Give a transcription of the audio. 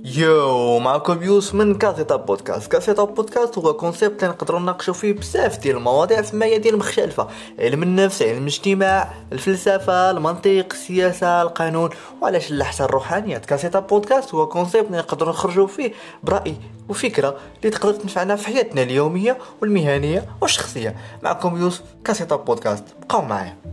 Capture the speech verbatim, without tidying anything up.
يو معكم يوسف من كاسيتا بودكاست. كاسيتا بودكاست هو كونسيبت اللي نقدروا نناقشوا فيه بزاف ديال المواضيع في ميادين مختلفه: علم النفس، علم الاجتماع، الفلسفه، المنطق، السياسه، القانون، وعلاش لا حتى الروحانيات. كاسيتا بودكاست هو كونسيبت اللي نقدروا نخرجوا فيه براي وفكره اللي تقدر تنفعنا في حياتنا اليوميه والمهنيه والشخصيه. معكم يوسف، كاسيتا بودكاست، بقاو معايا.